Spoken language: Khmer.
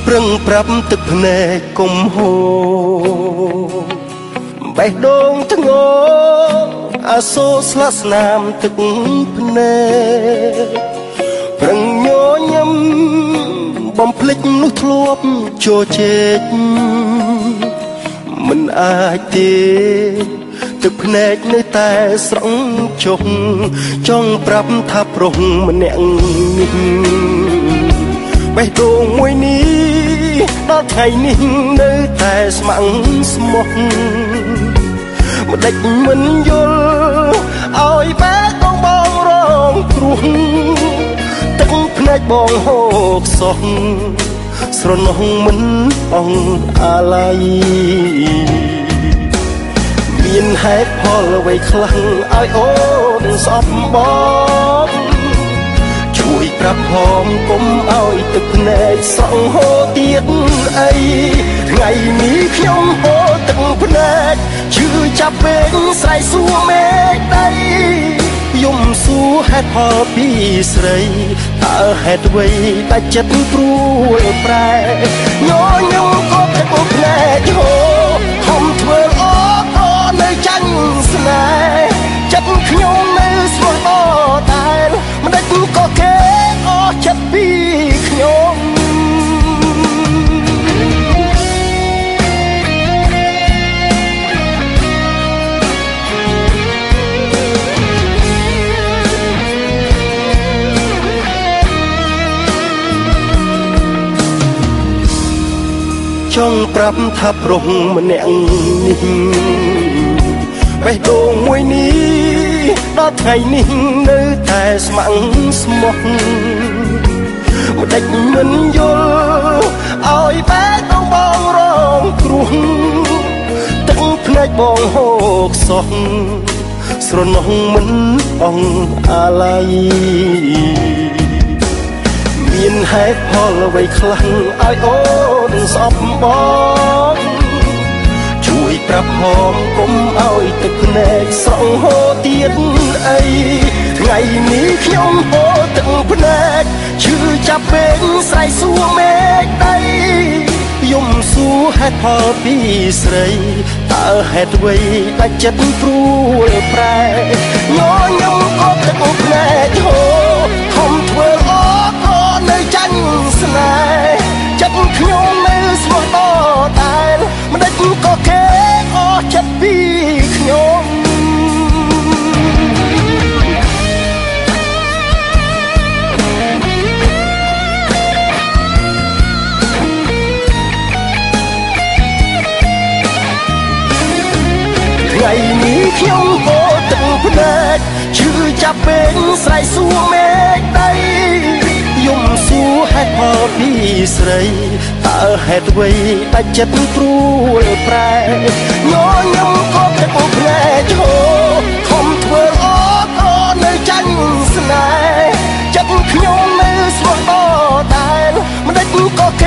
ប្រឹងប្រាប់ទឹកភ្នែកកុំហូរបេះដូងធ្ងរអាសូរស្លាកស្នាមទឹកភ្នែកប្រឹងញញឹមបំភ្លេចនោះធ្លាប់ជោជែកមិនអាចទេទឹកភ្នែកនៅតែស្រង់ចុះចង់ប្រាប់ថាប្រុសម្នាក់នេះបេះដូងមួយនេះដល់ថ្ងៃនេះនៅតែស្ម័គ្រស្មោះមិនដេចមិនយល់ឲ្យបេះដូងបងរងគ្រោះទឹកភ្នែកបងហូរខ្សោះស្រណោះមិនអង្អាឡ័យមានហេតុផលអ្វីខ្លះឲ្យអូនស្អប់បងជួយប្រាប់ផងកុំឲ្យទឹកភ្នែកស្រង់ហូរទៀតអីថ្ងៃនេះខ្ញុំហូរទឹកភ្នែកឈឺចាប់ពេកស្រែកសួរមេឃដីយំសួរហេតុផលពីស្រីតើហេតុអ្វីតែចិត្តព្រួលប្រែញញឹមក៏ទឹកភ្នែកហូរខំធ្វើអូក៏នៅចាញ់ស្នេហ៍ចិត្តខ្ញុំនៅស្មោះអតែមិនដេចក៏គេអស់ចិត្តពីខ្ញុំចង់ប្រាប់ថាប្រុសម្នាក់នេះបេះដូងមួយនេះដល់ថ្ងៃនេះនៅតែស្ម័គ្រស្មោះមិនដេចមិនយល់ឲ្យបេះដូងបងរងគ្រោះទឹកភ្នែកបងហូរខ្សោះស្រណោះមិនអង្អាឡ័យមានហេតុផលអ្វីខ្លះឲ្យអូនស្អប់បងជួយប្រាប់ផងកុំឲ្យទឹកភ្នែកស្រង់ហូរទៀតអីថ្ងៃនេះខ្ញុំហូរទឹកភ្នែកឈឺចាប់ពេកស្រែកសួរមេឃដីយំសួរហេតុផលពីស្រីតើហេតុអ្វីតែចិត្តព្រួលប្រែញញឹមក៏ទឹកភ្នែកហូរខំធ្វើអូក៏នៅចាញ់ស្នេហ៍ចិត្តខ្ញុំនៅស្មោះអតែមិនដេចក៏គេអស់ចិត្តពីខ្ញុំថ្ងៃនេះខ្ញុំហូរទឹកភ្នែកឈឺចាប់ពេកស្រែកសួរមេឃដីយំសួរហេតុផលពីស្រីតើហេតុអ្វីតែចិត្តព្រួលប្រែញញឹមក៏ទឹកភ្នែកហូរខំធ្វើអូក៏នៅចាញ់ស្នេហ៍ចិត្តខ្ញុំនៅស្មោះអតែមិនដេចក៏